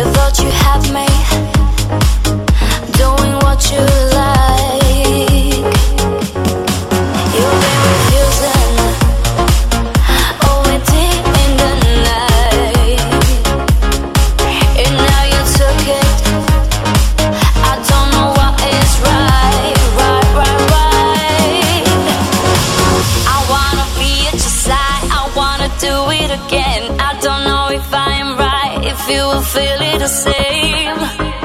thought you had me doing what you like. You've been refusing all we did in the night, and now you took it. I don't know what is right. I wanna be at your side, I wanna do it again. I don't know if I am right, if you will feel it the same.